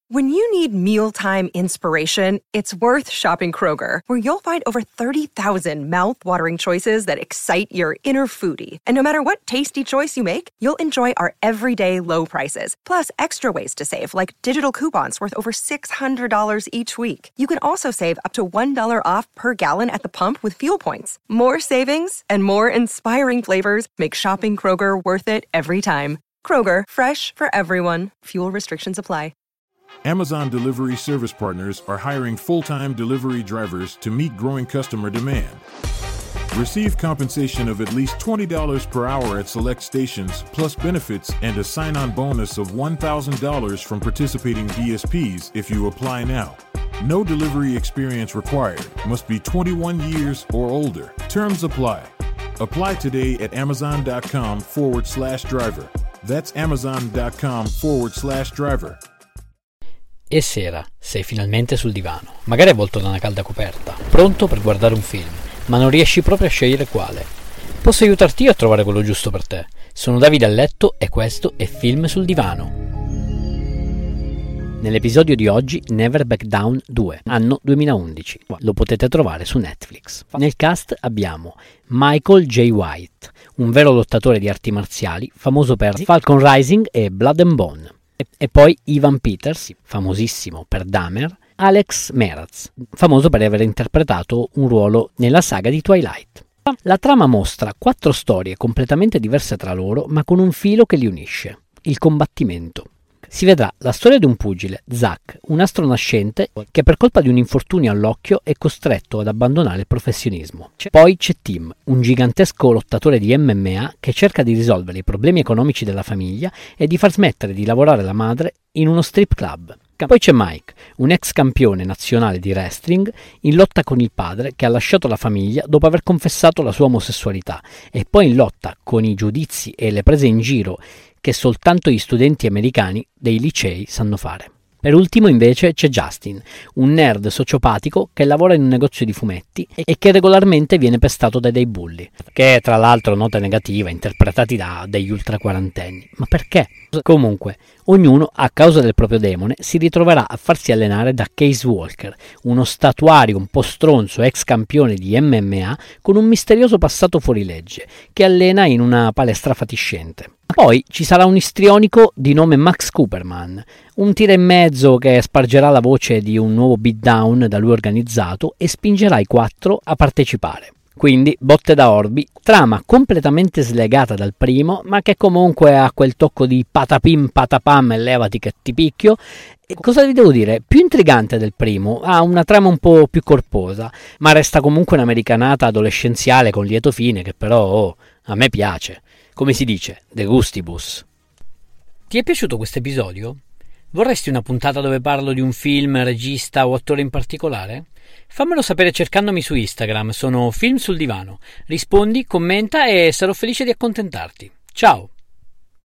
When you need mealtime inspiration, it's worth shopping Kroger, where you'll find over 30,000 mouth-watering choices that excite your inner foodie. And no matter what tasty choice you make, you'll enjoy our everyday low prices, plus extra ways to save, like digital coupons worth over $600 each week. You can also save up to $1 off per gallon at the pump with fuel points. More savings and more inspiring flavors make shopping Kroger worth it every time. Kroger, fresh for everyone. Fuel restrictions apply. Amazon Delivery Service Partners are hiring full-time delivery drivers to meet growing customer demand. Receive compensation of at least $20 per hour at select stations, plus benefits and a sign-on bonus of $1,000 from participating DSPs if you apply now. No delivery experience required. Must be 21 years or older. Terms apply. Apply today at amazon.com/driver. That's amazon.com/driver. E sera, sei finalmente sul divano, magari avvolto da una calda coperta, pronto per guardare un film, ma non riesci proprio a scegliere quale. Posso aiutarti io a trovare quello giusto per te. Sono Davide a letto e questo è Film sul divano. Nell'episodio di oggi Never Back Down 2, anno 2011. Lo potete trovare su Netflix. Nel cast abbiamo Michael J. White, un vero lottatore di arti marziali, famoso per Falcon Rising e Blood and Bone. E poi Evan Peters, famosissimo per Dahmer, Alex Meraz, famoso per aver interpretato un ruolo nella saga di Twilight. La trama mostra 4 storie completamente diverse tra loro, ma con un filo che li unisce: il combattimento. Si vedrà la storia di un pugile, Zack, un astro nascente che per colpa di un infortunio all'occhio è costretto ad abbandonare il professionismo. Poi c'è Tim, un gigantesco lottatore di MMA che cerca di risolvere i problemi economici della famiglia e di far smettere di lavorare la madre in uno strip club. Poi c'è Mike, un ex campione nazionale di wrestling in lotta con il padre che ha lasciato la famiglia dopo aver confessato la sua omosessualità, e poi in lotta con i giudizi e le prese in giro che soltanto gli studenti americani dei licei sanno fare. Per ultimo invece c'è Justin, un nerd sociopatico che lavora in un negozio di fumetti e che regolarmente viene pestato da dei bulli, che tra l'altro nota negativa, interpretati da degli ultraquarantenni. Ma perché? Comunque, ognuno, a causa del proprio demone, si ritroverà a farsi allenare da Case Walker, uno statuario un po' stronzo ex campione di MMA con un misterioso passato fuorilegge, che allena in una palestra fatiscente. Poi ci sarà un istrionico di nome Max Cooperman, un tira in mezzo che spargerà la voce di un nuovo beatdown da lui organizzato e spingerà i 4 a partecipare. Quindi botte da orbi, trama completamente slegata dal primo, ma che comunque ha quel tocco di patapim patapam e levati che ti picchio. E cosa vi devo dire? Più intrigante del primo, ha una trama un po' più corposa, ma resta comunque un'americanata adolescenziale con lieto fine che però a me piace. Come si dice, de gustibus. Ti è piaciuto questo episodio? Vorresti una puntata dove parlo di un film, regista o attore in particolare? Fammelo sapere cercandomi su Instagram, sono Film sul Divano. Rispondi, commenta e sarò felice di accontentarti. Ciao!